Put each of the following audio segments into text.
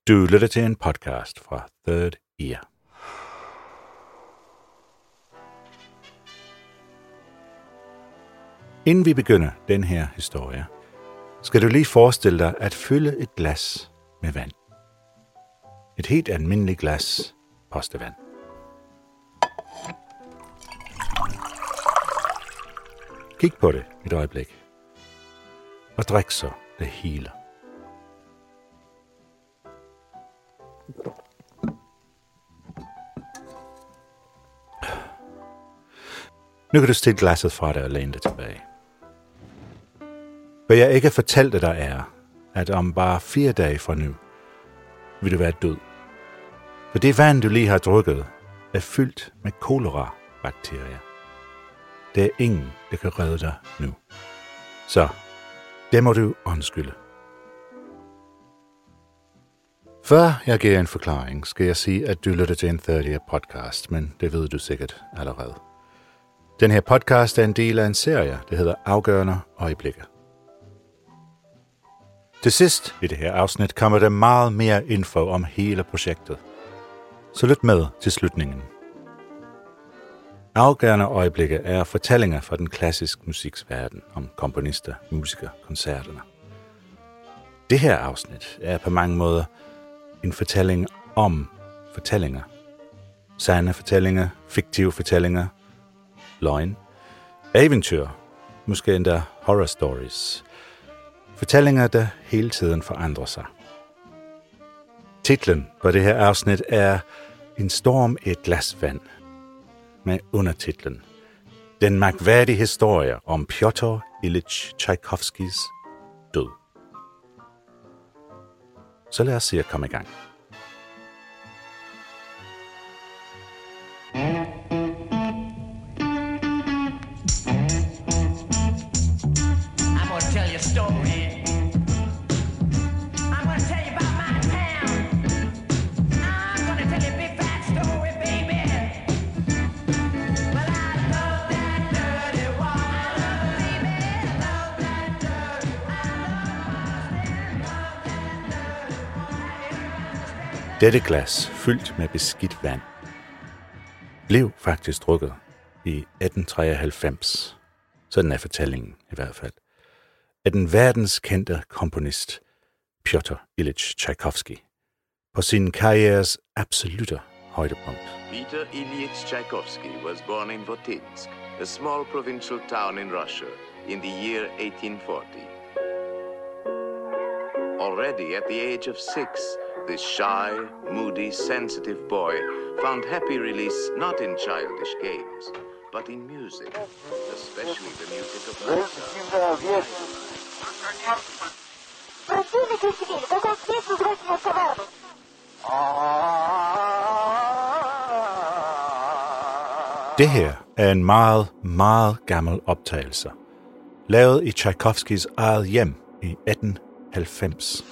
Du lytter til en podcast fra Third Ear. Inden vi begynder den her historie, skal du lige forestille dig at fylde et glas med vand. Et helt almindeligt glas postevand. Kig på det et øjeblik, og drik så det hele. Nu kan du stille glasset fra dig og læne dig tilbage. Hvad jeg ikke fortalte dig er, at om bare 4 dage fra nu, vil du være død. For det vand, du lige har drukket, er fyldt med kolera-bakterier. Der er ingen, der kan redde dig nu. Så, det må du undskylde. Før jeg giver en forklaring, skal jeg sige, at du lytter til en Third Ear podcast, men det ved du sikkert allerede. Den her podcast er en del af en serie, der hedder Afgørende øjeblikke. Til sidst i det her afsnit kommer der meget mere info om hele projektet. Så lyt med til slutningen. Afgørende øjeblikke er fortællinger fra den klassiske musiksverden om komponister, musikere, koncerterne. Det her afsnit er på mange måder en fortælling om fortællinger. Sande fortællinger, fiktive fortællinger, løgn, eventyr, måske endda horror stories. Fortællinger, der hele tiden forandrer sig. Titlen på det her afsnit er En storm i et glas vand, med undertitlen Den mærkværdige historie om Pjotr Ilyich Tchaikovskys død. Så lad os se at komme i gang. Dette glas, fyldt med beskidt vand, blev faktisk drukket i 1893, sådan er fortællingen i hvert fald, af den verdenskendte komponist Pjotr Ilyich Tchaikovsky på sin karrieres absolutte højdepunkt. Peter Ilyich Tchaikovsky was born in Votinsk, a small provincial town in Russia, in the year 1840. Already at the age of 6, this shy, moody, sensitive boy found happy release not in childish games, but in music, especially the music of Mozart. Det her er en meget, meget gammel optagelse, lavet i Tchaikovskys eget hjem i 1890.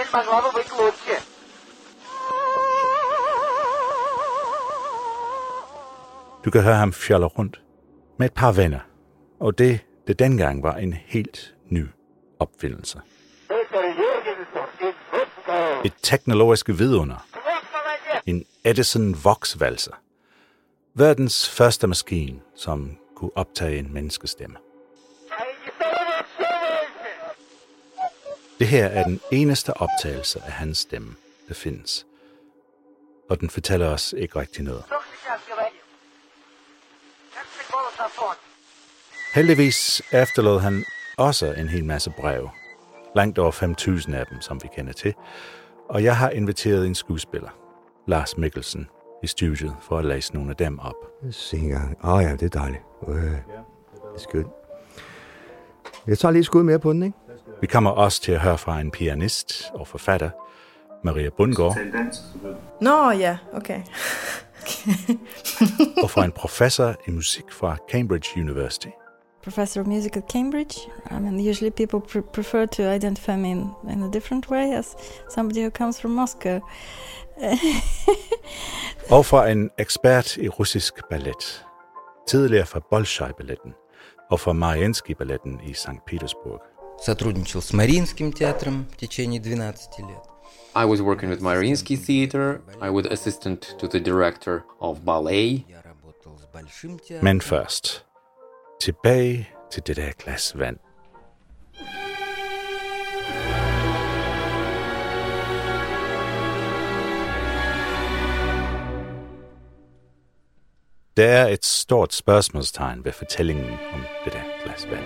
Du kan høre ham fjolle rundt med et par venner, og det dengang var en helt ny opfindelse. Et teknologisk vidunder. En Edison Vox-valser. Verdens første maskine, som kunne optage en menneskestemme. Det her er den eneste optagelse af hans stemme, der findes. Og den fortæller os ikke rigtig noget. Heldigvis efterlod han også en hel masse breve. Langt over 5.000 af dem, som vi kender til. Og jeg har inviteret en skuespiller, Lars Mikkelsen, i studiet for at læse nogle af dem op. Se engang. Ja, det er dejligt. Det er skønt. Jeg tager lige et skud mere på den, ikke? Vi kommer også til at høre fra en pianist og forfatter, Maria Bundgaard. Nå ja, okay. Og fra en professor i musik fra Cambridge University. Professor of music at Cambridge. I mean, usually people prefer to identify me in a different way as somebody who comes from Moscow. Og fra en ekspert i russisk ballet. Tidligere fra Bolshoi-balletten og fra Mariinsky-balletten i St. Petersburg. Сотрудничал с Мариинским театром в течение 12 лет. I was working with Mariinsky Theater. I was assistant to the director of ballet. Men først, tilbage til det der glas vand. Der er et stort spørgsmålstegn ved fortællingen om det der glas vand.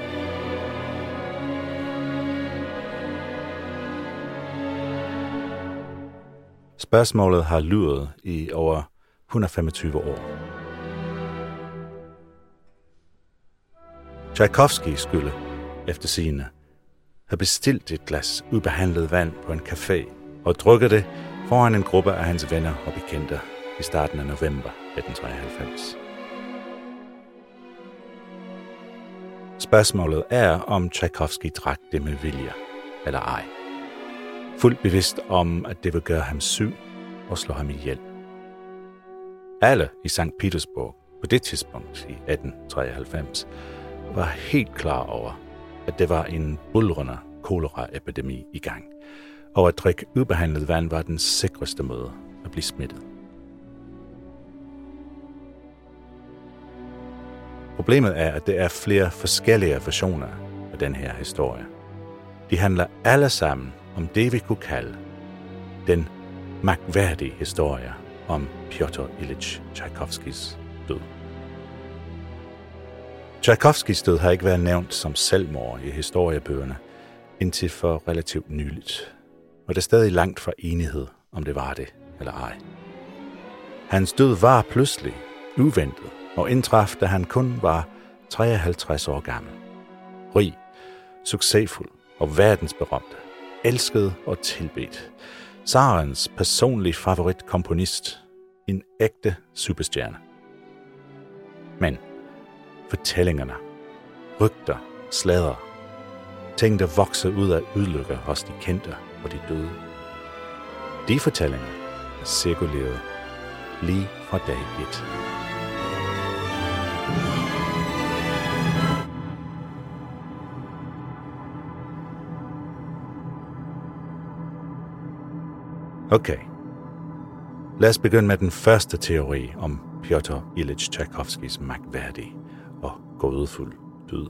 Spørgsmålet har luret i over 125 år. Tchaikovsky skulle, efter sigende, have bestilt et glas ubehandlet vand på en café og drukket det foran en gruppe af hans venner og bekendte i starten af november 1993. Spørgsmålet er, om Tchaikovsky drak det med vilje eller ej. Fuldt bevidst om, at det vil gøre ham syg og slå ham ihjel. Alle i St. Petersburg på det tidspunkt i 1893 var helt klar over, at det var en buldrende koleraepidemi i gang, og at drikke ubehandlet vand var den sikreste måde at blive smittet. Problemet er, at det er flere forskellige versioner af den her historie. De handler alle sammen om det, vi kunne kalde den mærkværdige historie om Pyotr Ilyich Tchaikovskys død. Tchaikovskys død har ikke været nævnt som selvmord i historiebøgerne indtil for relativt nyligt, og det er stadig langt fra enighed, om det var det eller ej. Hans død var pludselig, uventet, og indtraf, da han kun var 53 år gammel. Rig, succesfuld og verdensberømt, elsket og tilbedt. Tsarens personlige favoritkomponist, en ægte superstjerne. Men fortællingerne, rygter, sladder, ting der vokser ud af ulykker hos de kendte og de døde. De fortællinger er cirkuleret lige fra dag 1. Okay. Lad os begynde med den første teori om Pyotr Ilyich Tchaikovskys mærkværdige og gådefuld død.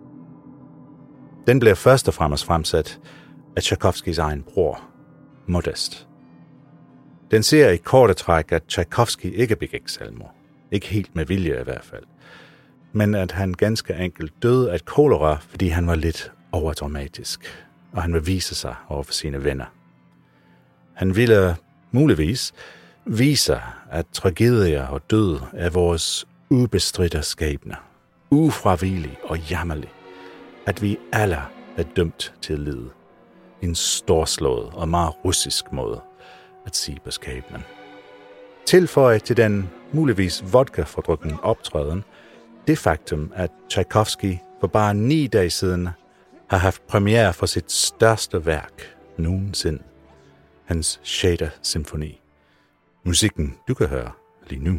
Den bliver først og fremmest fremsat af Tchaikovskys egen bror, Modest. Den ser i korte træk, at Tchaikovsky ikke begik selvmord. Ikke helt med vilje i hvert fald. Men at han ganske enkelt døde af kolera, fordi han var lidt overdramatisk, og han vil vise sig over for sine venner. Han ville muligvis vise, at tragedier og død er vores ubestridte skæbne, ufravigelig og jammerlig, at vi alle er dømt til at lide. En storslået og meget russisk måde at sige på skæbnen. Tilføje til den muligvis vodka-fordrukken optræden det faktum, at Tchaikovsky for bare 9 dage siden har haft premiere for sit største værk nogensinde. Hans 6. symfoni. Musikken, du kan høre lige nu.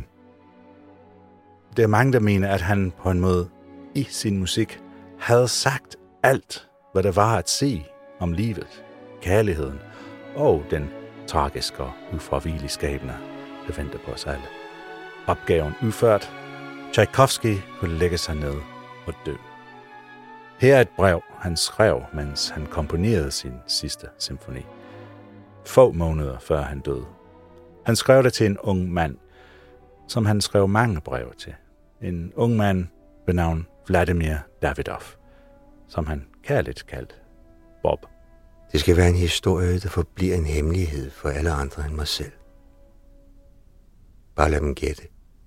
Der er mange, der mener, at han på en måde i sin musik havde sagt alt, hvad der var at sige om livet, kærligheden og den tragiske og ufravigelige skæbne, der venter på os alle. Opgaven udført. Tchaikovsky kunne lægge sig ned og dø. Her er et brev, han skrev, mens han komponerede sin sidste symfoni. Få måneder før han døde. Han skrev det til en ung mand, som han skrev mange breve til. En ung mand ved navn Vladimir Davidov, som han kærligt kaldte Bob. Det skal være en historie, der forbliver en hemmelighed for alle andre end mig selv. Bare lad dem gætte.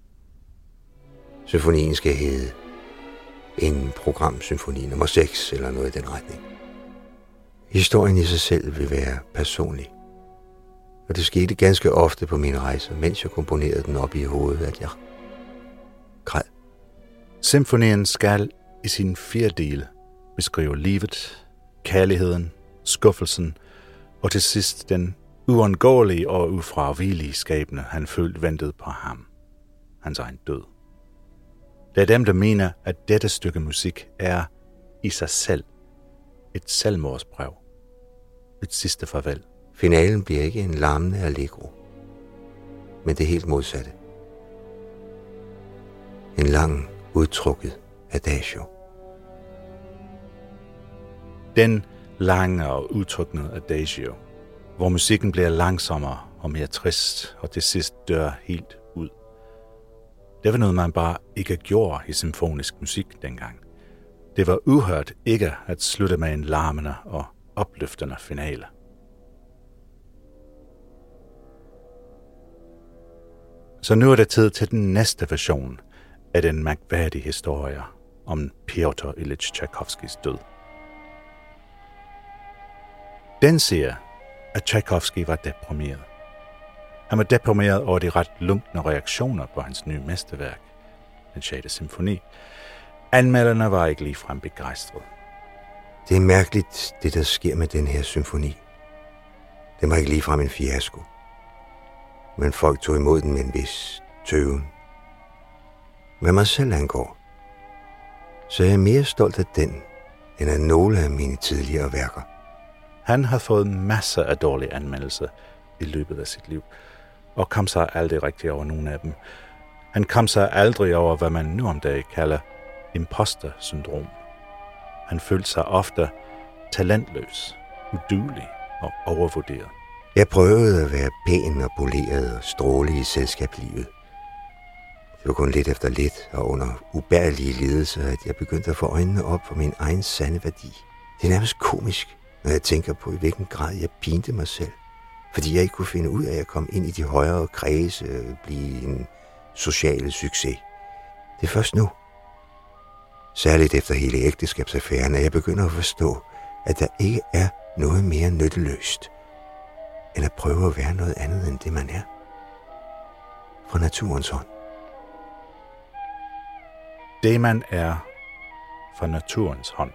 Symfonien skal hedde en programsymfoni nummer 6 eller noget i den retning. Historien i sig selv vil være personlig. Og det skete ganske ofte på mine rejser, mens jeg komponerede den op i hovedet, at jeg græd. Symfonien skal i sine 4 dele beskrive livet, kærligheden, skuffelsen og til sidst den uundgåelige og ufravigelige skæbne, han følte ventede på ham. Hans egen død. Der er dem, der mener, at dette stykke musik er i sig selv et selvmordsbrev. Et sidste farvel Finalen bliver ikke en larmende allegro, men det helt modsatte. En lang, udtrukket adagio. Den lange og udtrykkende adagio, hvor musikken bliver langsommere og mere trist, og til sidst dør helt ud. Det var noget, man bare ikke gjorde i symfonisk musik dengang. Det var uhørt ikke at slutte med en larmende og opløftende finale. Så nu er det tid til den næste version af den mærkværdige historie om Pyotr Ilyich Tchaikovskys død. Den siger, at Tchaikovsky var deprimeret. Han var deprimeret over de ret lunkne reaktioner på hans nye mesterværk, den 6. symfoni. Anmelderne var ikke ligefrem begejstrede. Det er mærkeligt, det der sker med den her symfoni. Den var ikke ligefrem en fiasko. Men folk tog imod den med en vis tøven. Hvad mig selv angår, så er jeg mere stolt af den, end af nogle af mine tidligere værker. Han har fået masser af dårlige anmeldelser i løbet af sit liv, og kom sig aldrig rigtig over nogen af dem. Han kom sig aldrig over, hvad man nu om dagen kalder imposter-syndrom. Han følte sig ofte talentløs, uduelig og overvurderet. Jeg prøvede at være pæn og poleret og stråle i selskabslivet. Det var kun lidt efter lidt og under ubærlige lidelser, at jeg begyndte at få øjnene op for min egen sande værdi. Det er nærmest komisk, når jeg tænker på, i hvilken grad jeg pinte mig selv. Fordi jeg ikke kunne finde ud af at komme ind i de højere kredse, blive en social succes. Det er først nu, særligt efter hele ægteskabsaffæren, at jeg begynder at forstå, at der ikke er noget mere nytteløst, end at prøve at være noget andet end det, man er. Fra naturens hånd. Det, man er fra naturens hånd.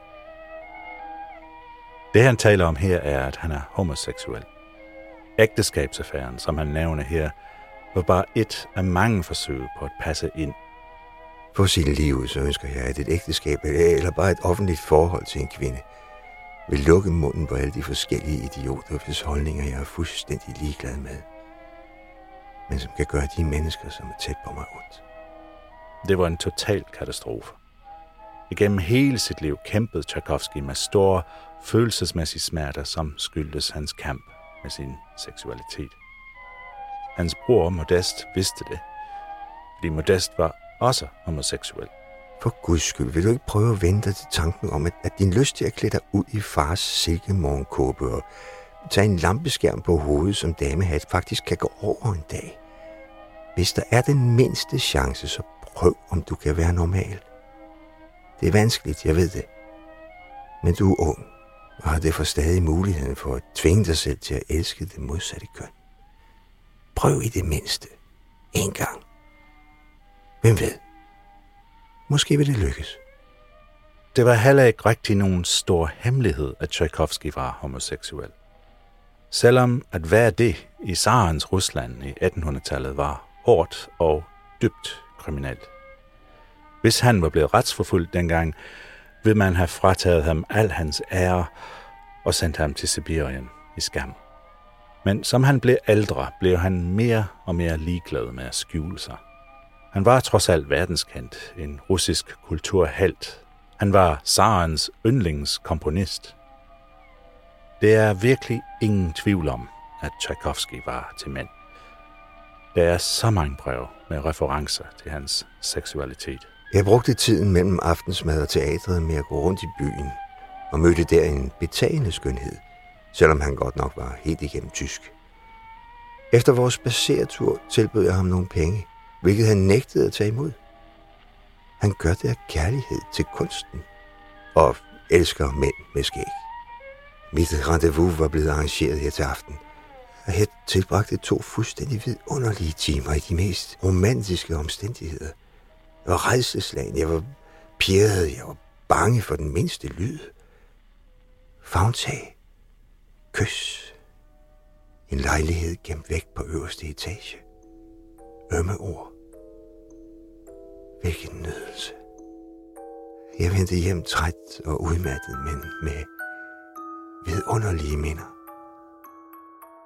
Det, han taler om her, er, at han er homoseksuel. Ægteskabsaffæren, som han nævner her, var bare et af mange forsøg på at passe ind. For sit liv, så ønsker jeg, at et ægteskab eller bare et offentligt forhold til en kvinde vil lukke munden på alle de forskellige idioter, hvis holdninger jeg er fuldstændig ligeglad med, men som kan gøre de mennesker, som er tæt på mig, ondt. Det var en total katastrofe. Igennem hele sit liv kæmpede Tchaikovsky med store følelsesmæssige smerter, som skyldtes hans kamp med sin seksualitet. Hans bror Modest vidste det, fordi Modest var også homoseksuel. For Guds skyld, vil du ikke prøve at vende dig til tanken om, at din lyst til at klæde dig ud i fars silkemorgenkåbe og tage en lampeskærm på hovedet som damehat faktisk kan gå over en dag? Hvis der er den mindste chance, så prøv, om du kan være normal. Det er vanskeligt, jeg ved det. Men du er ung, og har derfor stadig muligheden for at tvinge dig selv til at elske det modsatte køn. Prøv i det mindste. En gang. Hvem ved? Måske vil det lykkes. Det var heller ikke rigtig nogen stor hemmelighed, at Tchaikovsky var homoseksuel. Selvom at være det i tsarens Rusland i 1800-tallet var hårdt og dybt kriminelt. Hvis han var blevet retsforfulgt dengang, ville man have frataget ham al hans ære og sendt ham til Sibirien i skam. Men som han blev ældre, blev han mere og mere ligeglad med at skjule sig. Han var trods alt verdenskendt, en russisk kulturhelt. Han var tsarens yndlingskomponist. Det er virkelig ingen tvivl om, at Tchaikovsky var til mænd. Der er så mange breve med referencer til hans seksualitet. Jeg brugte tiden mellem aftensmad og teatret med at gå rundt i byen og mødte der en betagende skønhed, selvom han godt nok var helt igennem tysk. Efter vores spadseretur tilbød jeg ham nogle penge, hvilket han nægtede at tage imod. Han gør det af kærlighed til kunsten og elsker mænd med skæg. Mit rendezvous var blevet arrangeret her til aften, og jeg tilbragte 2 fuldstændig vidunderlige timer i de mest romantiske omstændigheder. Jeg var rædselsslagen, jeg var pirret, jeg var bange for den mindste lyd. Favntag, kys, en lejlighed gemt væk på øverste etage, ømme ord. Hvilken nydelse. Jeg vendte hjem træt og udmattet, men med vidunderlige minder.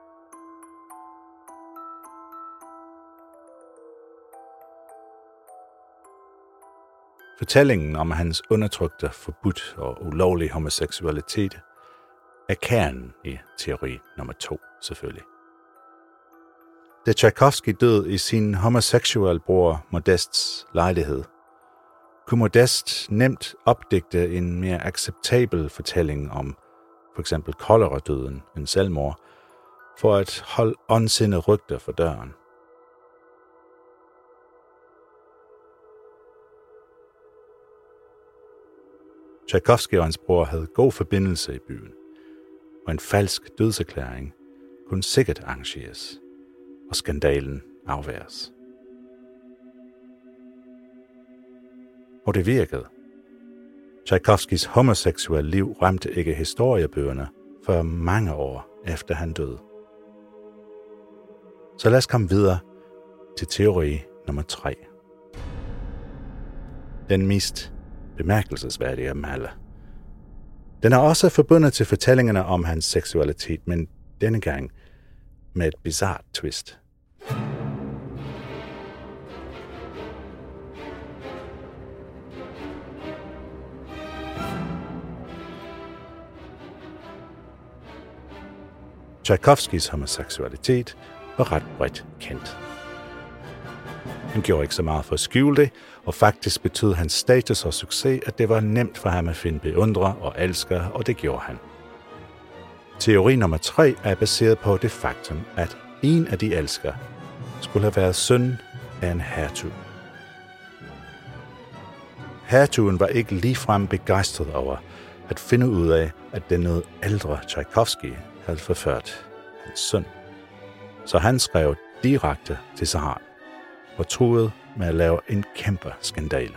Fortællingen om hans undertrykte, forbudt og ulovlige homoseksualitet er kernen i teori nummer 2, selvfølgelig. Da Tchaikovsky døde i sin homoseksuelle bror Modests lejlighed, kunne Modest nemt opdigte en mere acceptabel fortælling om for eksempel koleradøden end selvmord, for at holde ondsindede rygter for døren. Tchaikovsky og hans bror havde god forbindelse i byen, og en falsk dødserklæring kunne sikkert arrangeres, og skandalen afværges. Og det virkede. Tchaikovskys homoseksuelle liv ramte ikke historiebøgerne for mange år efter han døde. Så lad os komme videre til teori nummer 3. Den mest bemærkelsesværdige af dem alle. Den er også forbundet til fortællingerne om hans seksualitet, men denne gang med et bizarrt twist. Tchaikovskys homoseksualitet var ret bredt kendt. Han gjorde ikke så meget for at skjule det, og faktisk betød hans status og succes, at det var nemt for ham at finde beundrere og elskere, og det gjorde han. Teori nummer 3 er baseret på det faktum, at en af de elskere skulle have været søn af en hertug. Hertugen var ikke ligefrem begejstret over at finde ud af, at den noget ældre Tchaikovsky havde forført hans søn. Så han skrev direkte til zaren og truede med at lave en kæmpe skandale.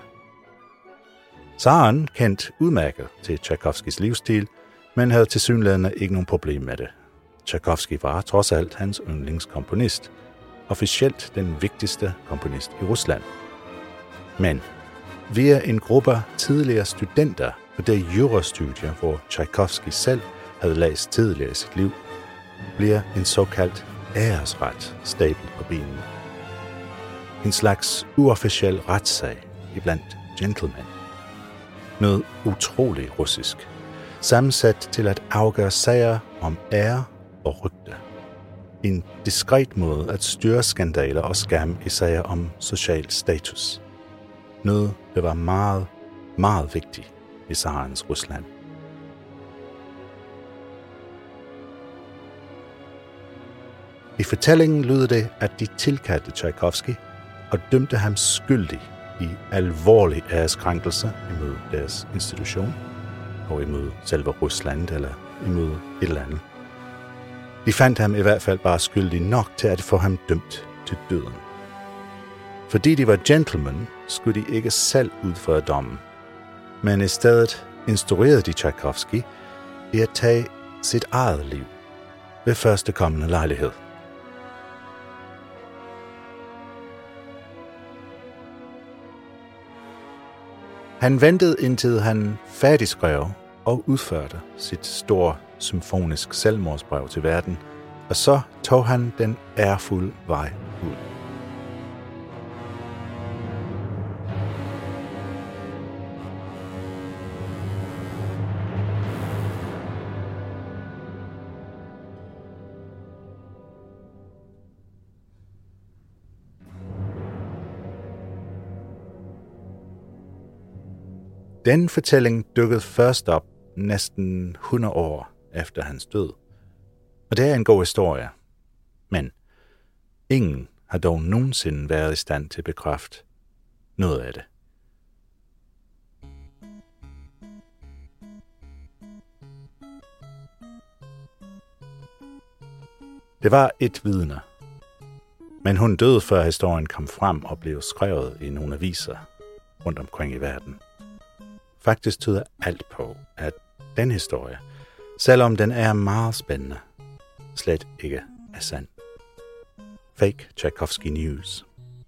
Zaren kendte udmærket til Tchaikovskys livsstil, men havde tilsyneladende ikke nogen problem med det. Tchaikovsky var trods alt hans yndlingskomponist, officielt den vigtigste komponist i Rusland. Men via en gruppe tidligere studenter på det jurastudie, hvor Tchaikovsky selv havde læst tidligere i sit liv, bliver en såkaldt æresret stablet på benene. En slags uofficiel retssag iblandt gentlemen. Noget utroligt russisk, sammensat til at afgøre sager om ære og rygte. En diskret måde at styre skandaler og skam i sager om social status. Noget, der var meget, meget vigtigt i zarens Rusland. I fortællingen lyder det, at de tilkaldte Tchaikovsky og dømte ham skyldig i alvorlig æreskrænkelse imod deres institution, og imod selve Rusland eller imod et eller andet. De fandt ham i hvert fald bare skyldig nok til at få ham dømt til døden. Fordi de var gentlemen, skulle de ikke selv udføre dommen, men i stedet instruerede de Tchaikovsky i at tage sit eget liv ved førstekommende lejlighed. Han ventede indtil han færdigskrev og udførte sit store symfonisk selvmordsbrev til verden, og så tog han den ærefulde vej ud. Den fortælling dukkede først op næsten 100 år efter hans død. Og det er en god historie. Men ingen har dog nogensinde været i stand til at bekræfte noget af det. Det var et vidne, men hun døde før historien kom frem og blev skrevet i nogle aviser rundt omkring i verden. Faktisk tyder alt på, at den historie, selvom den er meget spændende, slet ikke er sand. Fake Tchaikovsky News.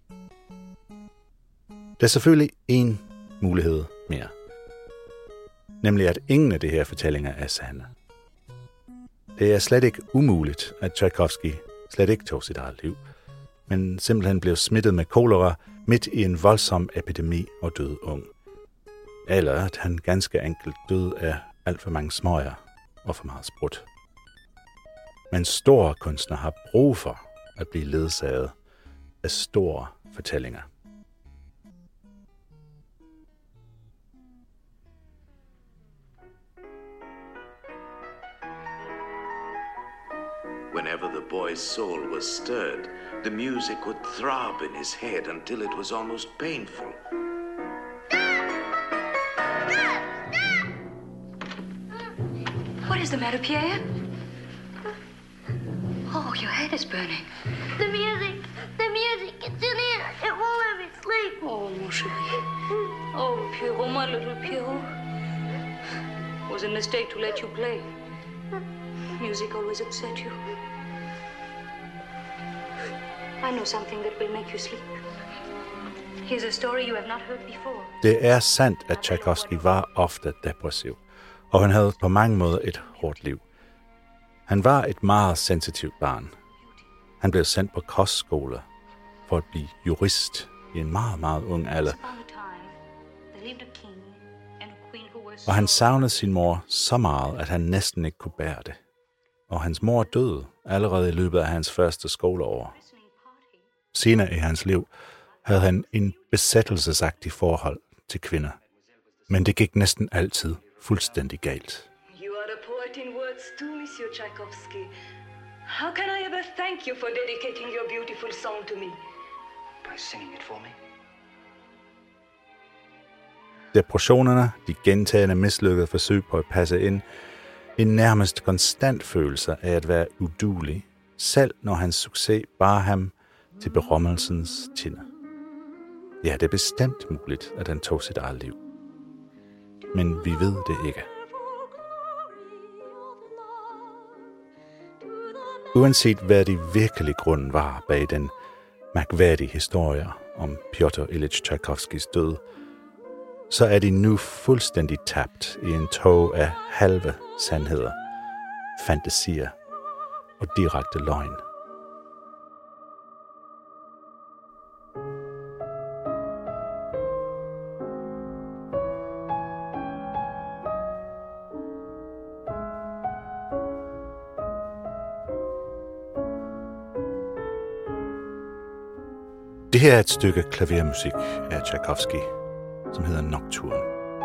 Der er selvfølgelig en mulighed mere. Nemlig at ingen af de her fortællinger er sande. Det er slet ikke umuligt, at Tchaikovsky slet ikke tog sit eget liv, men simpelthen blev smittet med kolera midt i en voldsom epidemi og døde ung. eller at han ganske enkelt døde af alt for mange smøger og for meget sprut. Men store kunstnere har brug for at blive ledsaget af store fortællinger. Whenever the boy's soul was stirred, the music would throb in his head until it was almost painful. What is the matter, Pierre? Oh, your head is burning. The music, it's in here. It won't let me sleep. Oh, mon chéri. Oh, Pierrot, my little Pierrot. It was a mistake to let you play. Music always upset you. I know something that will make you sleep. Here's a story you have not heard before. Det er sandt, at Tchaikovsky var ofte depressiv, og han havde på mange måder et hårdt liv. Han var et meget sensitivt barn. Han blev sendt på kostskole for at blive jurist i en meget, meget ung alder. Og han savnede sin mor så meget, at han næsten ikke kunne bære det. Og hans mor døde allerede i løbet af hans første skoleår. Senere i hans liv havde han en besættelsesagtig forhold til kvinder. Men det gik næsten altid fuldstændig galt. You are a poet in words too, Monsieur Tchaikovsky. How can I ever thank you for dedicating your beautiful song to me? By singing it for me. Depressionerne, de gentagne mislykkede forsøg på at passe ind, en nærmest konstant følelse af at være uduelig, selv når hans succes bar ham til berømmelsens tinde. Ja, det er bestemt muligt, at han tog sit eget liv. Men vi ved det ikke. Uanset hvad de virkelige grund var bag den mærkværdige historie om Pyotr Ilyich Tchaikovskys død, så er de nu fuldstændig tabt i en tog af halve sandheder, fantasier og direkte løgn. Det her er et stykke klavermusik af Tchaikovsky, som hedder Nocturne.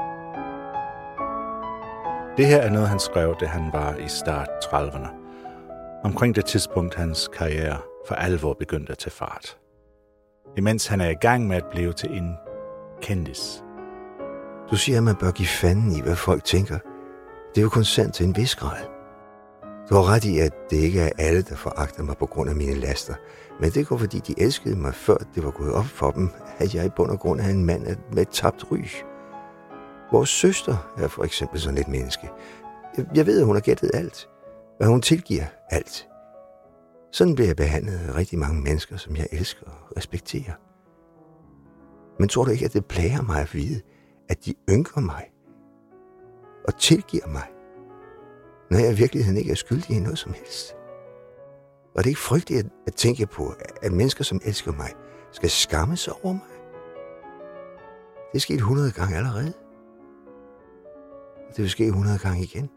Det her er noget, han skrev, da han var i start 30'erne. Omkring det tidspunkt, hans karriere for alvor begyndte at tage fart. Imens han er i gang med at blive til en kendis. Du siger, at man bør give fanden i, hvad folk tænker. Det er jo kun sandt til en vis grad. Du har ret i, at det ikke er alle, der foragter mig på grund af mine laster. Men det går, fordi de elskede mig, før det var gået op for dem, at jeg i bund og grund er en mand med et tabt ry. Vores søster er for eksempel sådan et menneske. Jeg ved, at hun har gættet alt, og hun tilgiver alt. Sådan bliver jeg behandlet af rigtig mange mennesker, som jeg elsker og respekterer. Men tror du ikke, at det plager mig at vide, at de ynker mig og tilgiver mig, når jeg i virkeligheden ikke er skyldig i noget som helst? Og det er ikke frygteligt at tænke på, at mennesker, som elsker mig, skal skamme sig over mig. Det er sket 100 gange allerede. Det vil ske 100 gange igen.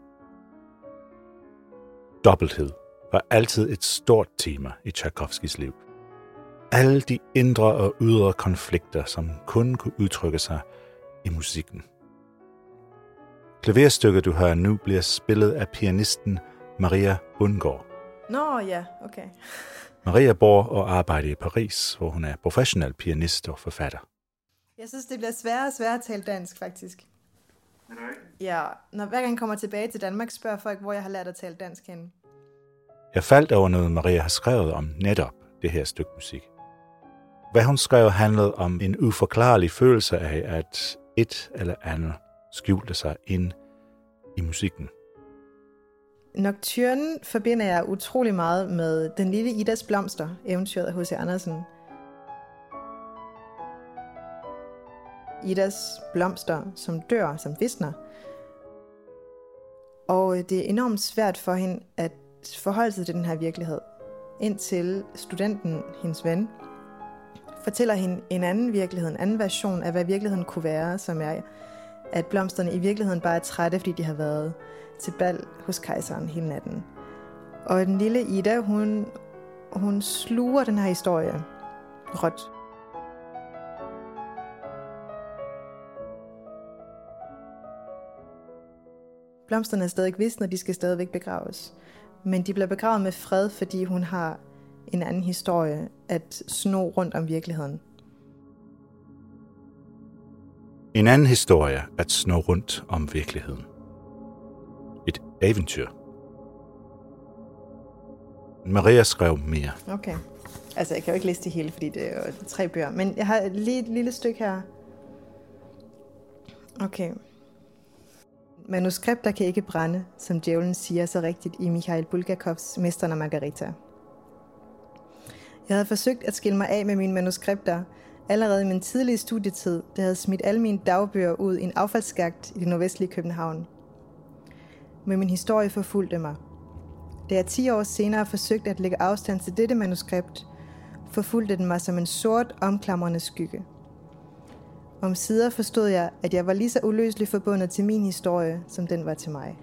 Dobbelthed var altid et stort tema i Tchaikovskys liv. Alle de indre og ydre konflikter, som kun kunne udtrykke sig i musikken. Klaverstykket, du hører nu, bliver spillet af pianisten Maria Bundgaard. Nå, ja, okay. Maria bor og arbejder i Paris, hvor hun er professionel pianist og forfatter. Jeg synes, det bliver sværere og sværere at tale dansk, faktisk. Ja, hver gang jeg kommer tilbage til Danmark, spørger folk, hvor jeg har lært at tale dansk henne. Jeg faldt over noget, Maria har skrevet om netop det her stykke musik. Hvad hun skrev handlede om en uforklarlig følelse af, at et eller andet skjulte sig ind i musikken. Nocturne forbinder jeg utrolig meget med Den lille Idas blomster, eventyret af H.C. Andersen. Idas blomster, som dør, som visner. Og det er enormt svært for hende at forholde sig til den her virkelighed, indtil studenten, hendes ven, fortæller hende en anden virkelighed, en anden version af, hvad virkeligheden kunne være, som er at blomsterne i virkeligheden bare er trætte, fordi de har været til bal hos kejseren hele natten. Og den lille Ida, hun sluger den her historie råt. Blomsterne er stadig visne, og de skal stadigvæk begraves. Men de bliver begravet med fred, fordi hun har en anden historie at sno rundt om virkeligheden. En anden historie at sno rundt om virkeligheden. Et eventyr. Maria skrev mere. Okay. Altså, jeg kan jo ikke læse det hele, fordi det er jo 3 bøger. Men jeg har lige et lille stykke her. Okay. Manuskripter kan ikke brænde, som djævlen siger så rigtigt i Mikhail Bulgakovs Mesteren og Margarita. Jeg havde forsøgt at skille mig af med mine manuskripter allerede i min tidlige studietid, der havde smidt alle mine dagbøger ud i en affaldsskagt i det nordvestlige København. Men min historie forfulgte mig. Da jeg 10 år senere forsøgte at lægge afstand til dette manuskript, forfulgte den mig som en sort, omklamrende skygge. Omsider forstod jeg, at jeg var lige så uløseligt forbundet til min historie, som den var til mig.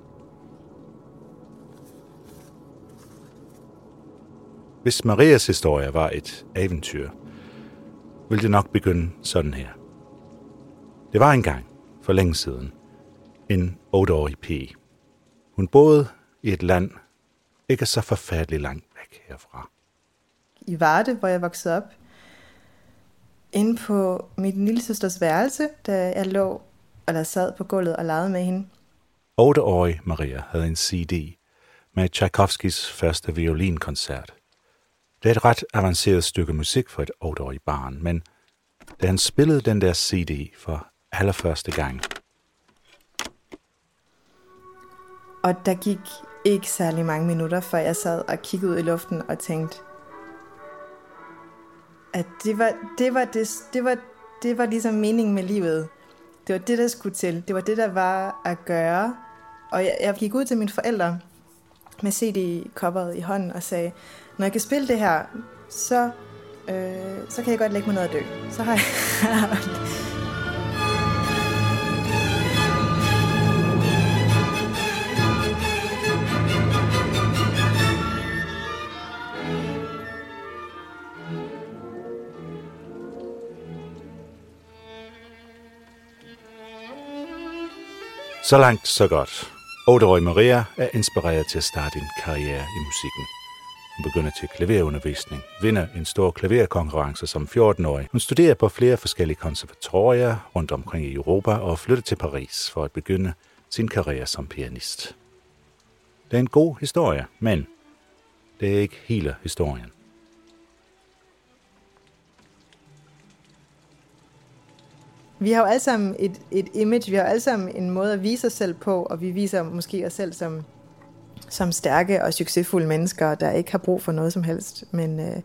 Hvis Marias historie var et eventyr, ville det nok begynde sådan her. Det var engang, for længe siden, en 8-årig pige. Hun boede i et land, ikke så forfærdeligt langt væk herfra. I Varde, hvor jeg voksede op, inde på min lillesøsters værelse, da jeg sad på gulvet og legede med hende. 8-årig Maria havde en CD med Tchaikovskis første violinkoncert. Det er et ret avanceret stykke musik for et 8-årigt barn, men da han spillede den der CD for allerførste gang. Og der gik ikke særlig mange minutter, før jeg sad og kiggede ud i luften og tænkte, at det var ligesom meningen med livet. Det var det, der skulle til. Det var det, der var at gøre. Og jeg gik ud til mine forældre med CD-coveret i hånden og sagde, når jeg kan spille det her, så kan jeg godt lægge mig ned og dø. Så har jeg... Så langt, så godt. 8-årige Maria er inspireret til at starte en karriere i musikken. Hun begynder til klaverundervisning, vinder en stor klaverkonkurrence som 14-årig. Hun studerer på flere forskellige konservatorier rundt omkring i Europa og flytter til Paris for at begynde sin karriere som pianist. Det er en god historie, men det er ikke hele historien. Vi har jo alle sammen et image, vi har alle sammen en måde at vise os selv på, og vi viser måske os selv som stærke og succesfulde mennesker, der ikke har brug for noget som helst. Men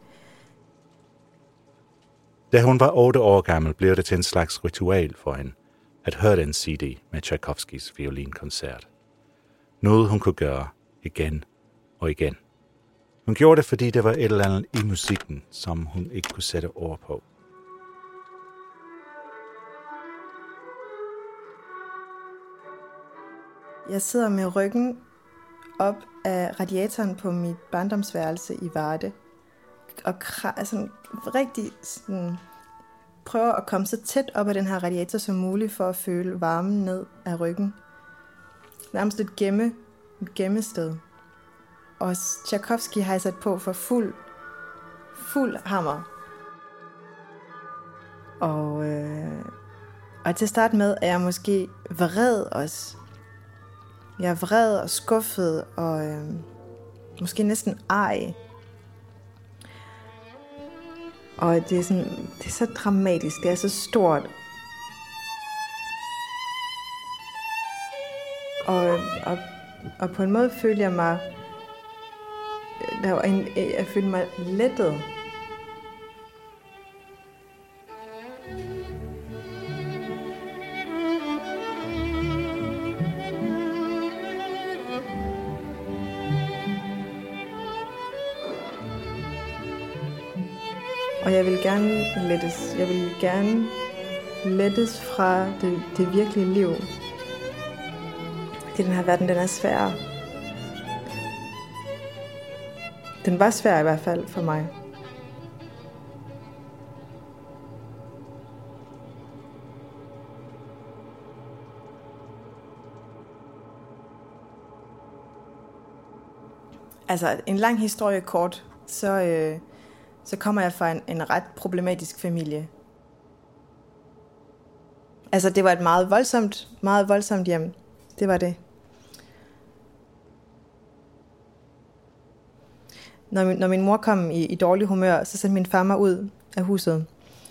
Da hun var 8 år gammel, blev det til en slags ritual for hende at høre den CD med Tchaikovskis violinkoncert. Noget hun kunne gøre igen og igen. Hun gjorde det, fordi der var et eller andet i musikken, som hun ikke kunne sætte ord på. Jeg sidder med ryggen op af radiatoren på mit barndomsværelse i Varde, og prøver at komme så tæt op af den her radiator som muligt for at føle varmen ned af ryggen. Nærmest et gemmested. Og Tchaikovsky har jeg sat på for fuld hammer. Og til at starte med er jeg måske vred også. Jeg er vred og skuffet og måske næsten ej. Og det er så dramatisk, det er så stort. Og på en måde følte jeg mig, jeg følte mig lettet. Og jeg vil gerne lettes. Jeg vil gerne lettes fra det virkelige liv. I den her verden, den er svær. Den var svær i hvert fald for mig. Altså, en lang historie kort, så kommer jeg fra en ret problematisk familie. Altså, det var et meget voldsomt hjem. Det var det. Når min mor kom i dårlig humør, så sendte min far mig ud af huset.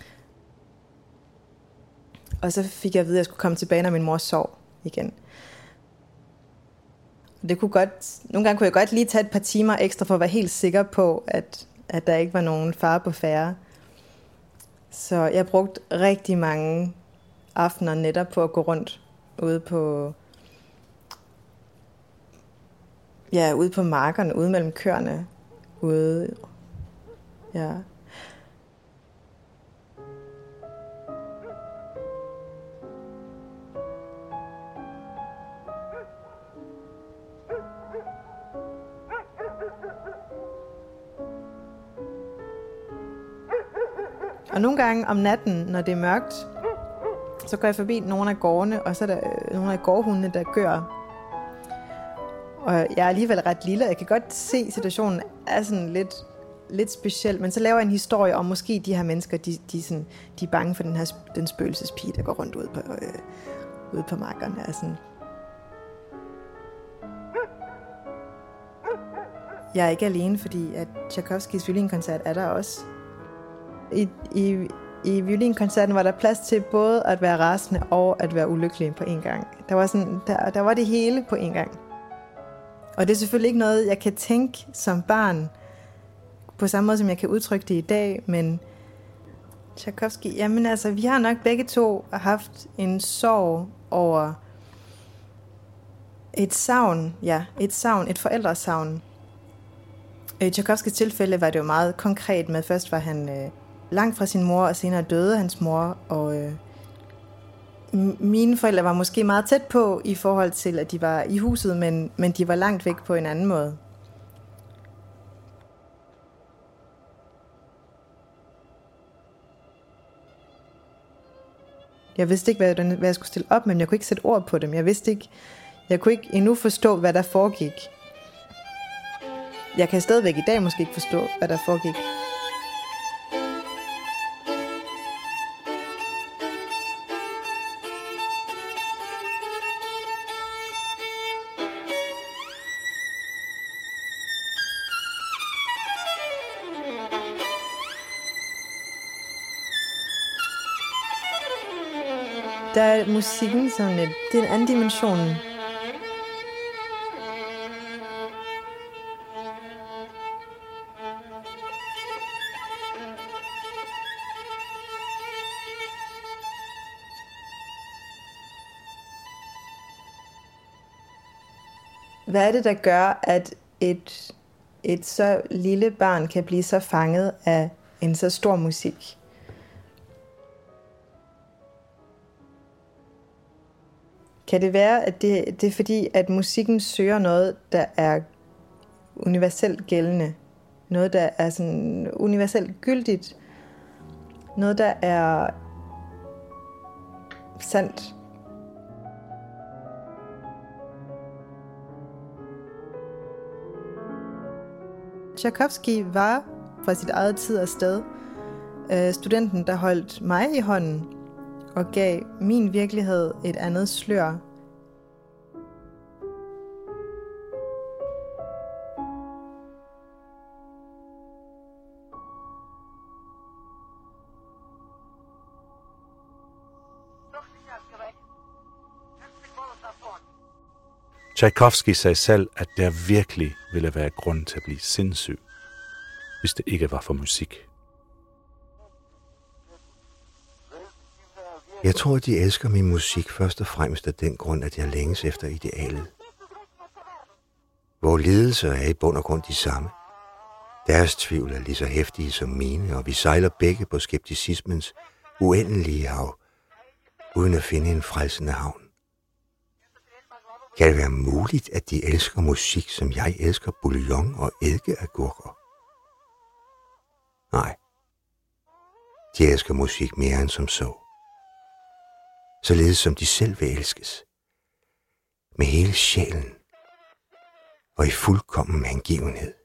Og så fik jeg at vide, at jeg skulle komme tilbage, når min mor sov igen. Nogle gange kunne jeg godt lige tage et par timer ekstra for at være helt sikker på, at der ikke var nogen fare på færde. Så jeg brugte rigtig mange aftener netop på at gå rundt ude på markerne, ude mellem køerne. Ja. Og nogle gange om natten, når det er mørkt, så går jeg forbi nogle af gårdene, og så er der nogle af gårdhundene, der gør. Og jeg er alligevel ret lille, jeg kan godt se, at situationen er sådan lidt speciel, men så laver jeg en historie om, måske de her mennesker, de er bange for den spøgelsespige, der går rundt ude på markerne. Sådan. Jeg er ikke alene, fordi at Tchaikovskys violinkoncert er der også. I violinkoncerten var der plads til både at være rasende og at være ulykkelig på en gang. Der var det hele på en gang. Og det er selvfølgelig ikke noget, jeg kan tænke som barn, på samme måde som jeg kan udtrykke det i dag, men Tchaikovsky, jamen altså, vi har nok begge to haft en sorg over et savn, et forældresavn. I Tchaikovskys tilfælde var det jo meget konkret med, først var han langt fra sin mor, og senere døde hans mor, og mine forældre var måske meget tæt på i forhold til, at de var i huset, men de var langt væk på en anden måde. Jeg vidste ikke, hvad jeg skulle stille op, men jeg kunne ikke sætte ord på dem. Jeg kunne ikke endnu forstå, hvad der foregik. Jeg kan stadigvæk i dag måske ikke forstå, hvad der foregik. Der er musikken sådan det er en anden dimension. Hvad er det, der gør, at et så lille barn kan blive så fanget af en så stor musik? Kan det være, at det er fordi, at musikken søger noget, der er universelt gældende? Noget, der er sådan universelt gyldigt? Noget, der er sandt? Tchaikovsky var fra sit eget tid og sted studenten, der holdt mig i hånden og gav min virkelighed et andet slør. Tchaikovsky sagde selv, at der virkelig ville være grund til at blive sindssyg, hvis det ikke var for musik. Jeg tror, de elsker min musik først og fremmest af den grund, at jeg længes efter idealet. Vores lidelser er i bund og grund de samme. Deres tvivl er lige så heftige som mine, og vi sejler begge på skepticismens uendelige hav, uden at finde en frelsende havn. Kan det være muligt, at de elsker musik, som jeg elsker bouillon og eddikeagurker? Nej. De elsker musik mere end som så. Således som de selv vil elskes. Med hele sjælen. Og i fuldkommen hengivenhed.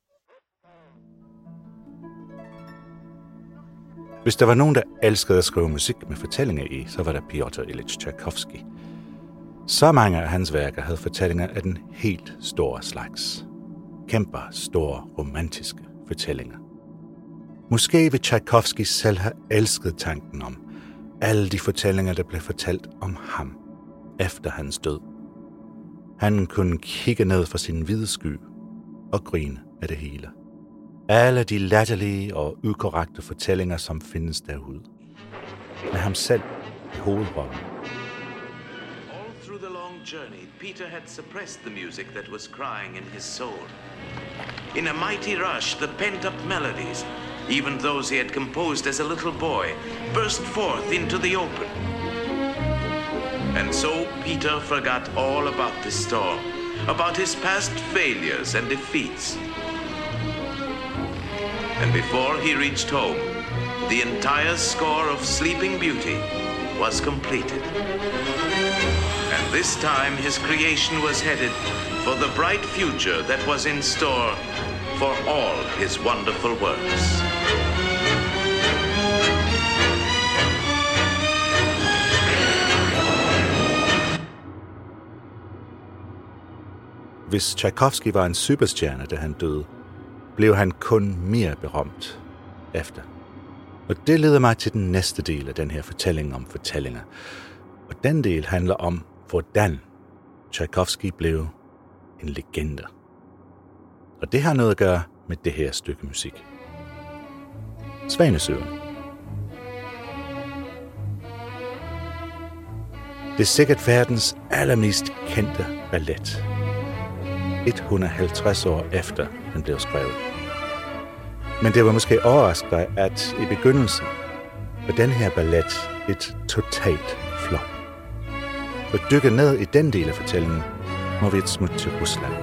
Hvis der var nogen, der elskede at skrive musik med fortællinger i, så var der Piotr Ilyich Tchaikovsky. Så mange af hans værker havde fortællinger af den helt store slags. Kæmper store romantiske fortællinger. Måske vil Tchaikovsky selv have elsket tanken om alle de fortællinger, der blev fortalt om ham efter hans død. Han kunne kigge ned fra sin hvide sky og grine af det hele. Alle de latterlige og ukorrekte fortællinger, som findes derude. Med ham selv i hovedrollen. All through the long journey, Peter had suppressed the music that was crying in his soul. In a mighty rush, the pent-up melodies, even those he had composed as a little boy, burst forth into the open. And so Peter forgot all about the storm, about his past failures and defeats. And before he reached home, the entire score of Sleeping Beauty was completed. And this time his creation was headed for the bright future that was in store for all his wonderful works. Hvis Tchaikovsky var en superstjerne, da han døde, blev han kun mere berømt efter. Og det leder mig til den næste del af den her fortælling om fortællinger. Og den del handler om, hvordan Tchaikovsky blev en legende. Og det har noget at gøre med det her stykke musik. Svanesøen. Det er sikkert verdens allermest kendte ballet. 150 år efter den blev skrevet. Men det var måske overraskende, at i begyndelsen var den her ballet et totalt flop. For at dykke ned i den del af fortællingen, må vi et smut til Rusland.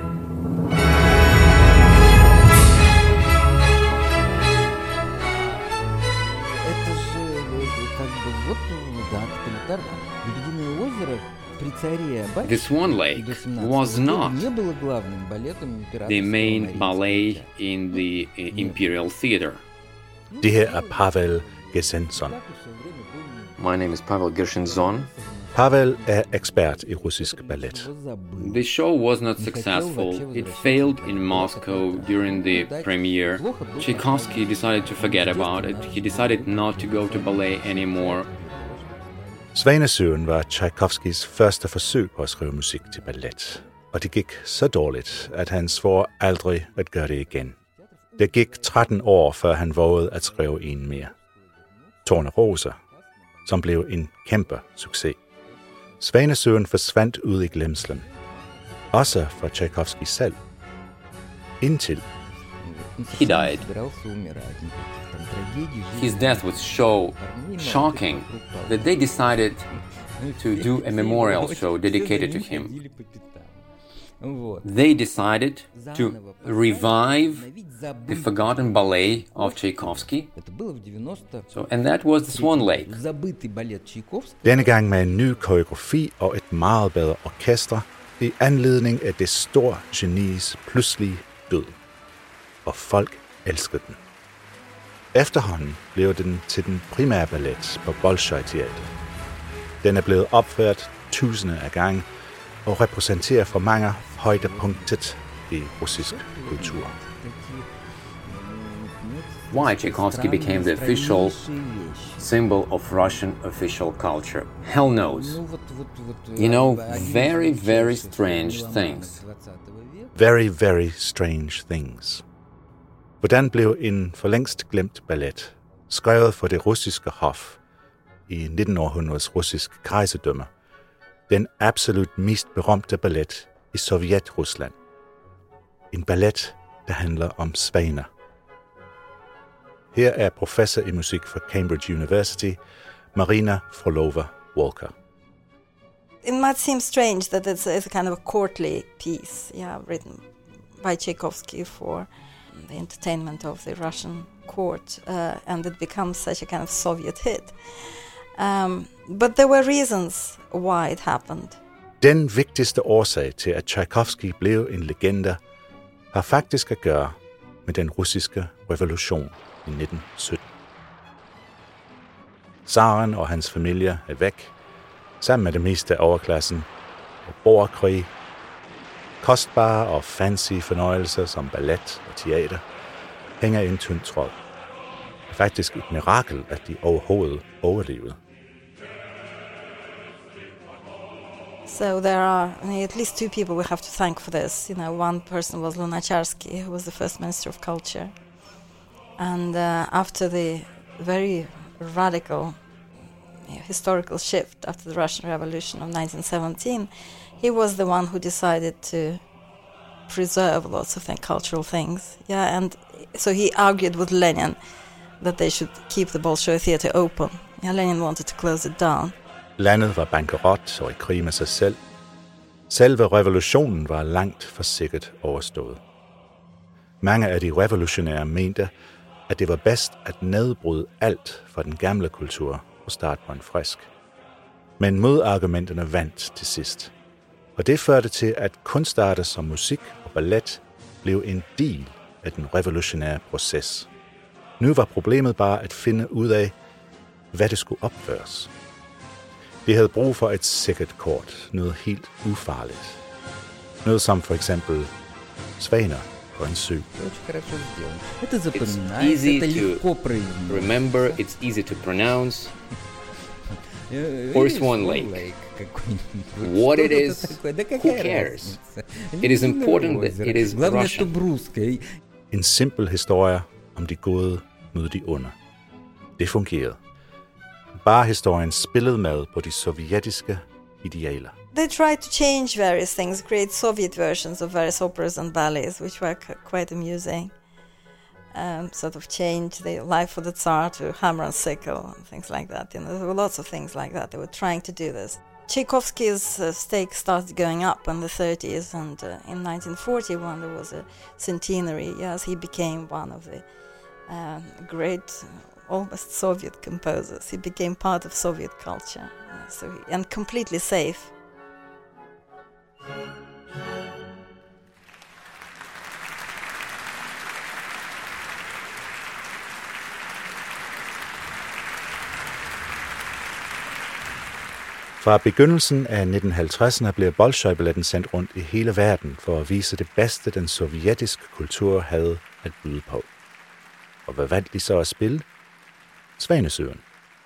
The Swan Lake was not the main ballet in the Imperial Theater. Det her er Pavel Gershenzon. My name is Pavel Gershenzon. Pavel er ekspert i russisk ballet. The show was not successful. It failed in Moscow during the premiere. Tchaikovsky decided to forget about it. He decided not to go to ballet anymore. Svanesøen var Tchaikovskys første forsøg på at skrive musik til ballet. Og det gik så dårligt, at han svor aldrig at gøre det igen. Det gik 13 år, før han vågede at skrive en mere. Tornerose, som blev en kæmpe succes. Svanesøen forsvandt ud i glemslen. Også fra Tchaikovsky selv. Indtil he died. His death was so shocking that they decided to do a memorial show dedicated to him. They decided to revive the forgotten ballet of Tchaikovsky. And that was the Swan Lake. Denne gang med en ny koreografi og et meget bedre orkester i anledning af det store genis pludselige død. Og folk elskede den. Efterhånden blev den til den primære ballet på Bolshoi-teatret. Den er blevet opført tusinde af gange og repræsenterer for mange højdepunktet i russisk kultur. Why Tchaikovsky became the official symbol of Russian official culture? Hell knows. You know, very, very strange things. Very, very strange things. Hvordan blev en for længst glemt ballet, skrevet for det russiske hof i 1900-århundredets russisk kejserdømme, den absolut mest berømte ballet i Sovjet-Rusland. En ballet, der handler om svaner. Her er professor i musik fra Cambridge University, Marina Frolova Walker. It might seem strange that it's a kind of a courtly piece, written by Tchaikovsky for the entertainment of the Russian court, and it becomes such a kind of Soviet hit. But there were reasons why it happened. Den vigtigste årsag til, at Tchaikovsky blev en legende, har faktisk at gøre med den russiske revolution i 1917. Zaren og hans familie er væk, sammen med det meste af overklassen, og borgerkrig, kostbare og fancy fornøjelser som ballet og teater, hænger i en tynd tråd. Det er faktisk et mirakel, at de overhovedet overlevede. So there are at least two people we have to thank for this. One person was Lunacharsky, who was the first Minister of Culture. And after the very radical historical shift after the Russian Revolution of 1917, he was the one who decided to preserve lots of cultural things. And so he argued with Lenin that they should keep the Bolshoi Theatre open. Lenin wanted to close it down. Landet var bankerot og i krig med sig selv. Selve revolutionen var langt for sikkert overstået. Mange af de revolutionære mente, at det var bedst at nedbryde alt fra den gamle kultur og starte på en frisk. Men modargumenterne vandt til sidst. Og det førte til, at kunstarter som musik og ballet blev en del af den revolutionære proces. Nu var problemet bare at finde ud af, hvad det skulle opføres. De havde brug for et sikkert kort, noget helt ufarligt. Noget som for eksempel svaner på en sø. It's easy to remember, it's easy to pronounce. Or Swan Lake. What it is, who cares? It is important that it is Russian. En simpel historie om de gode mod de onde. Det fungerede. Bare historien spillede med på de sovjetiske idealer. They tried to change various things, create Soviet versions of various operas and ballets, which were quite amusing. Sort of change the Life of the Tsar to Hammer and Sickle and things like that. There were lots of things like that. They were trying to do this. Tchaikovsky's stake started going up in the 30s, and in 1941 there was a centenary. Yes, he became one of the great, almost Soviet composers. He became part of Soviet culture, and completely safe. Fra begyndelsen af 1950'erne blev Bolshoi-balletten sendt rundt i hele verden for at vise det bedste, den sovjetiske kultur havde at byde på. Og hvad valgte de så at spille? Svanesøen.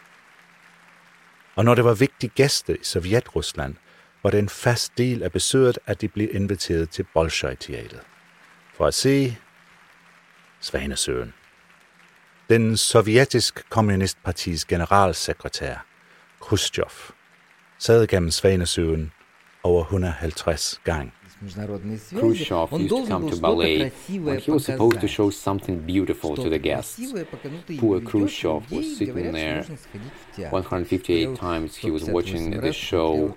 Og når det var vigtige gæster i Sovjet-Rusland, var det en fast del af besøget, at de blev inviteret til Bolshoi-teatret for at se Svanesøen. Den sovjetiske kommunistpartis generalsekretær, Khrushchev, sad gennem Svanesøen over 150 gange. Khrushchev used to come to ballet when he was supposed to show something beautiful to the guests. Poor Khrushchev was sitting there 158 times. He was watching the show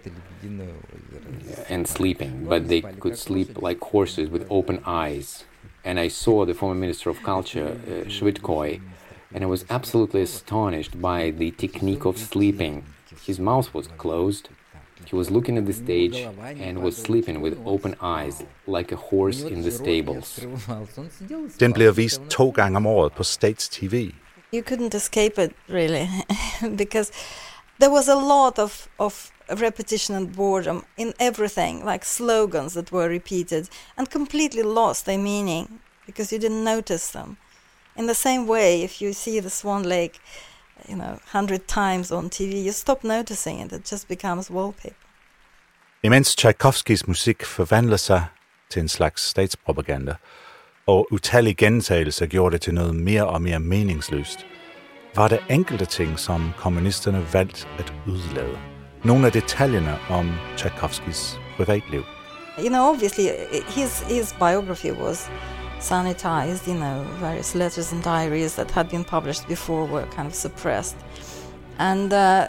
and sleeping, but they could sleep like horses with open eyes. And I saw the former Minister of Culture, Shvydkoy, and I was absolutely astonished by the technique of sleeping. His mouth was closed. He was looking at the stage and was sleeping with open eyes, like a horse in the stables. Den bliver vist 2 gange om året på Stats-TV. You couldn't escape it, really, because there was a lot of repetition and boredom in everything, like slogans that were repeated and completely lost their meaning because you didn't notice them. In the same way, if you see the Swan Lake 100 times on TV, you stop noticing it. It just becomes wallpaper. Imens Tchaikovskys musik forvandler sig til en slags statspropaganda, og utallige gentagelser gjorde det til noget mere og mere meningsløst, var der enkelte ting, som kommunisterne valgte at udlade. Nogle af detaljerne om Tchaikovskys privatliv. Obviously, his biography was sanitized, various letters and diaries that had been published before were kind of suppressed. And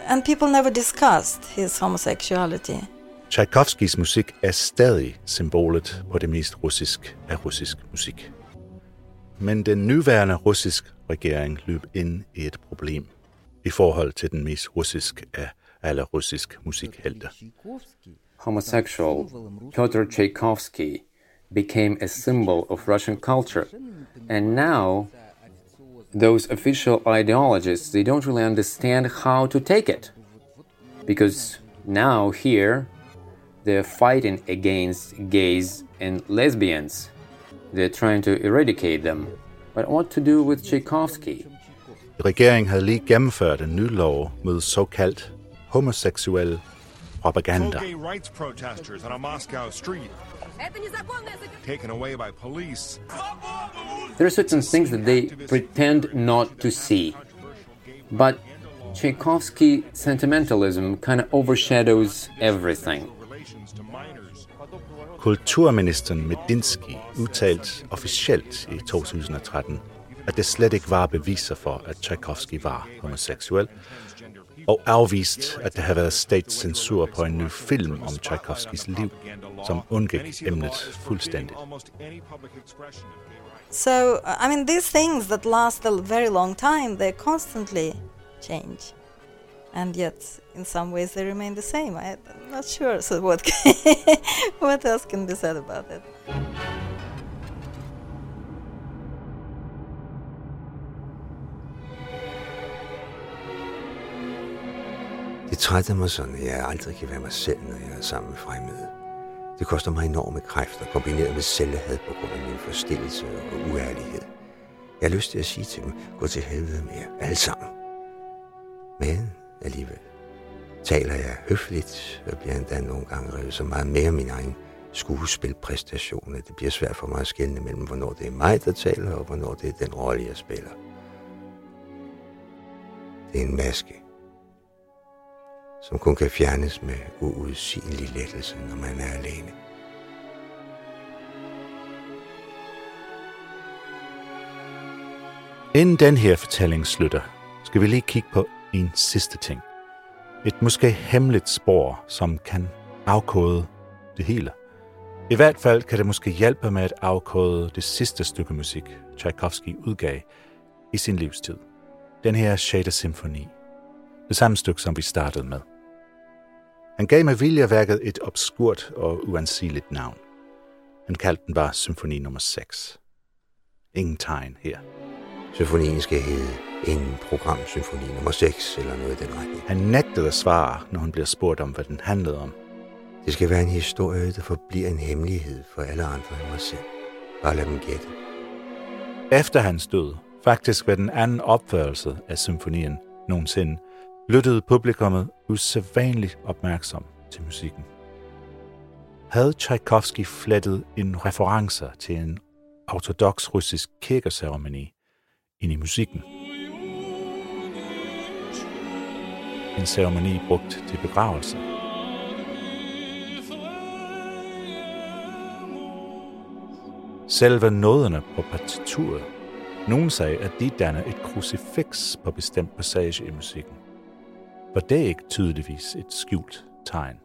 And people never discussed his homosexuality. Tchaikovskys musik er stadig symbolet på det mest russisk af russisk musik. Men den nuværende russiske regering løb ind i et problem i forhold til den mest russisk af alle russisk musikhelte. Homosexual Pyotr Tchaikovsky became a symbol of Russian culture, and now those official ideologists, they don't really understand how to take it, because now here they're fighting against gays and lesbians. They're trying to eradicate them. But what to do with Tchaikovsky? Regeringen havde lige gennemført en ny lov mod såkaldt homoseksuel propaganda. Gay rights protesters on a Moscow street taken away by police. There are certain things that they pretend not to see. But Tchaikovsky sentimentalism kind of overshadows everything. Kulturministeren Medinsky udtalte officielt i 2013, at det slet ikke var beviser for, at Tchaikovsky var homoseksuel, og afvist, at der havde været statscensur på en ny film om Tchaikovskys liv, som undgik emnet fuldstændigt. So, I mean, these things that last a very long time, they constantly change. And yet, in some ways, they remain the same. I'm not sure. So what else can be said about it? Det trætter mig sådan, at jeg aldrig kan være mig selv, når jeg er sammen med fremmede. Det koster mig enorme kræfter, kombineret med selvhad på grund af min forstillelse og uærlighed. Jeg har lyst til at sige til dem, gå til helvede med jer, alle sammen. Men alligevel taler jeg høfligt, og bliver endda nogle gange revet så meget mere min egen skuespilpræstation, at det bliver svært for mig at skelne mellem, hvornår det er mig, der taler, og hvornår det er den rolle, jeg spiller. Det er en maske, som kun kan fjernes med uudsigelig lettelse, når man er alene. Inden den her fortælling slutter, skal vi lige kigge på en sidste ting. Et måske hemmeligt spor, som kan afkode det hele. I hvert fald kan det måske hjælpe med at afkode det sidste stykke musik, Tchaikovsky udgav i sin livstid. Den her 6. symfoni. Det samme stykke, som vi startede med. Han gav med vilje et obskurt og uansigeligt navn. Han kaldte den bare symfoni nummer 6. Ingen tegn her. Symfonien skal hedde en programsymfoni nummer 6 eller noget i den retning. Han nægtede at svare, når hun bliver spurgt om, hvad den handlede om. Det skal være en historie, der forbliver en hemmelighed for alle andre end mig selv. Bare lad dem gætte. Efter hans død, faktisk ved den anden opførelse af symfonien nogensinde, lyttede publikummet usædvanligt opmærksom til musikken. Havde Tchaikovsky flettet en referencer til en ortodoks russisk kirkeceremoni ind i musikken? En ceremoni brugt til begravelse. Selve noderne på partituret. Nogen sagde, at de danner et krucifiks på bestemt passage i musikken. For det er ikke tydeligvis et skjult tegn.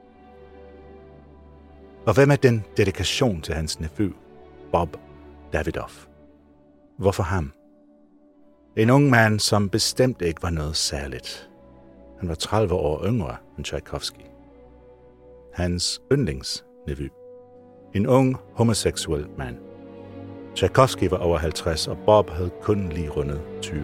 Og hvad med den dedikation til hans nephew, Bob Davidov? Hvorfor ham? En ung mand, som bestemt ikke var noget særligt. Han var 30 år yngre end Tchaikovsky. Hans yndlingsnevø. En ung homoseksuel mand. Tchaikovsky var over 50, og Bob havde kun lige rundet 20.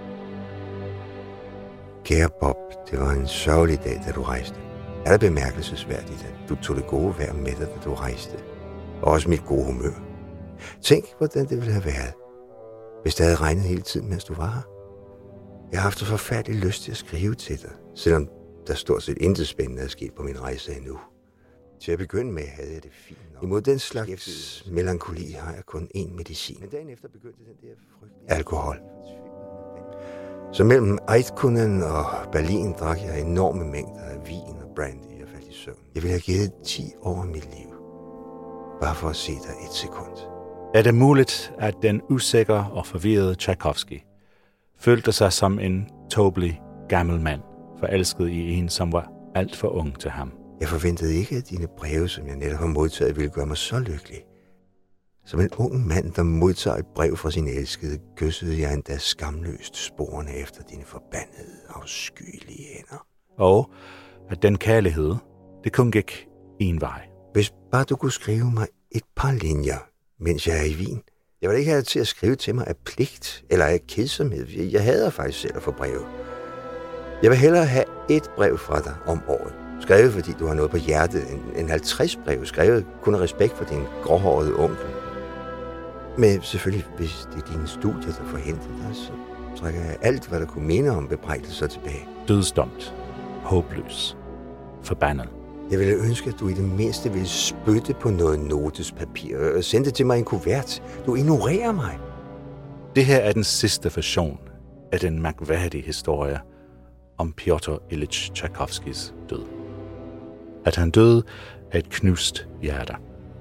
Kære Bob, det var en sørgelig dag, da du rejste. Er det bemærkelsesværdigt, at du tog det gode vejr med dig, da du rejste? Og også mit gode humør. Tænk, hvordan det ville have været, hvis det havde regnet hele tiden, mens du var her. Jeg har haft så forfærdelig lyst til at skrive til dig, selvom der stort set intet spændende er sket på min rejse endnu. Til at begynde med havde jeg det fint. Imod den slags melankoli har jeg kun én medicin. Men dagen efter begyndte den der alkohol. Så mellem Eidkunen og Berlin drak jeg enorme mængder af vin og brandy og faldt i søvn. Jeg ville have givet 10 år af mit liv, bare for at se dig et sekund. Er det muligt, at den usikre og forvirrede Tchaikovsky følte sig som en tåbelig gammel mand, forelsket i en, som var alt for ung til ham. Jeg forventede ikke, at dine breve, som jeg netop har modtaget, ville gøre mig så lykkelig. Som en ung mand, der modtager et brev fra sin elskede, kyssede jeg endda skamløst sporene efter dine forbandede, afskyelige hænder. Og at den kærlighed, det kun gik en vej. Hvis bare du kunne skrive mig et par linjer, mens jeg er i Wien. Jeg vil ikke have til at skrive til mig af pligt eller af kedsomhed. Jeg hader faktisk selv at få breve. Jeg vil hellere have et brev fra dig om året. Skrevet, fordi du har noget på hjertet, en 50 brev. Skrevet kun af respekt for din gråhårede onkel. Men selvfølgelig, hvis det er dine studier, der forhindrer dig, så trækker jeg alt, hvad der kunne minde om bebrejdelser tilbage. Dødsdomt. Håbløs. Forbandet. Jeg ville ønske, at du i det mindste ville spytte på noget notespapir og sende det til mig i en kuvert. Du ignorerer mig. Det her er den sidste version af den mærkværdige historie om Piotr Ilyich Tchaikovskys død. At han døde af et knust hjerte.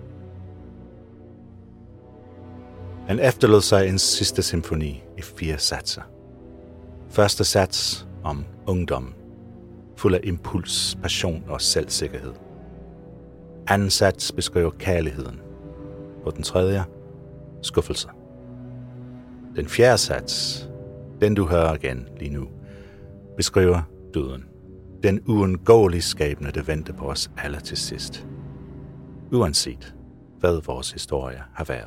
Han efterlod sig en sidste symfoni i 4 satser. Første sats om ungdom, fuld af impuls, passion og selvsikkerhed. Anden sats beskriver kærligheden, og den tredje, skuffelse. Den fjerde sats, den du hører igen lige nu, beskriver døden. Den uundgåelige skæbne, der venter på os alle til sidst. Uanset hvad vores historie har været.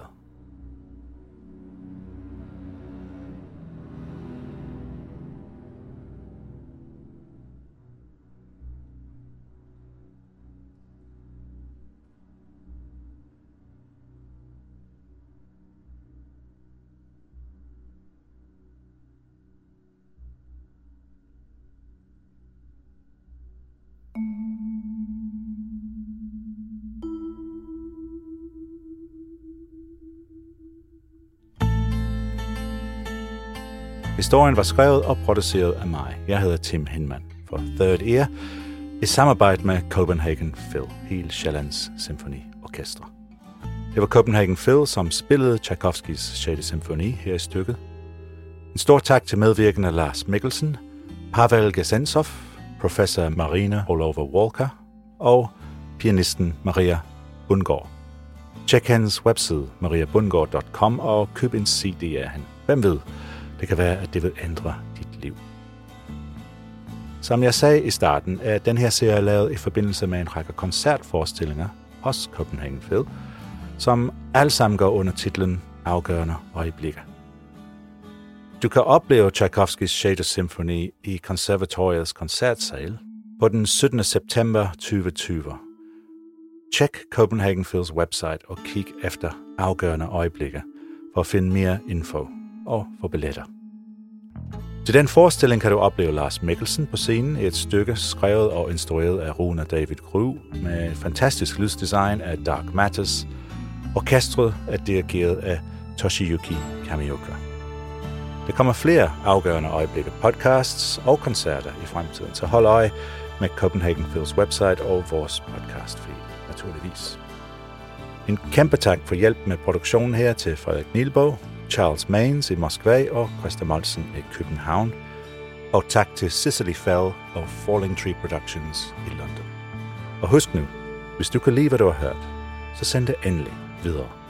Historien var skrevet og produceret af mig. Jeg hedder Tim Hinman for Third Ear i samarbejde med Copenhagen Phil, hele Sjællands Symfoniorkester. Det var Copenhagen Phil, som spillede Tchaikovskys 6. symfoni her i stykket. En stor tak til medvirkende Lars Mikkelsen, Pavel Gesensov, professor Marina Olova-Walker og pianisten Maria Bundgaard. Tjek hans webside mariabundgaard.com og køb en CD af hende. Hvem ved? Det kan være, at det vil ændre dit liv. Som jeg sagde i starten, er den her serie lavet i forbindelse med en række koncertforestillinger hos Copenhagen Phil, som alle sammen går under titlen Afgørende øjeblikke. Du kan opleve Tchaikovskys 6. symfoni i konservatoriets koncertsal på den 17. september 2020. Tjek Copenhagen Phils website og kig efter Afgørende øjeblikke for at finde mere info og få billetter. Til den forestilling kan du opleve Lars Mikkelsen på scenen i et stykke skrevet og instrueret af Rune David Gru med fantastisk lysdesign af Dark Matters. Orkestret er dirigeret af Toshiyuki Kamioka. Der kommer flere afgørende øjeblikke podcasts og koncerter i fremtiden, så hold øje med Copenhagen Phils website og vores podcast feed, naturligvis. En kæmpe tak for hjælp med produktionen her til Frederik Nielbo, Charles Maines i Moskva og Christa Molsen i København. Og tak til Cicely Fell og Falling Tree Productions i London. Og husk nu, hvis du kan lide, hvad du har hørt, så send det endelig videre.